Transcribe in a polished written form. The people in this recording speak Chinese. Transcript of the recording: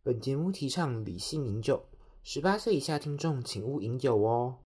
本节目提倡理性饮酒，18岁以下听众请勿饮酒哦。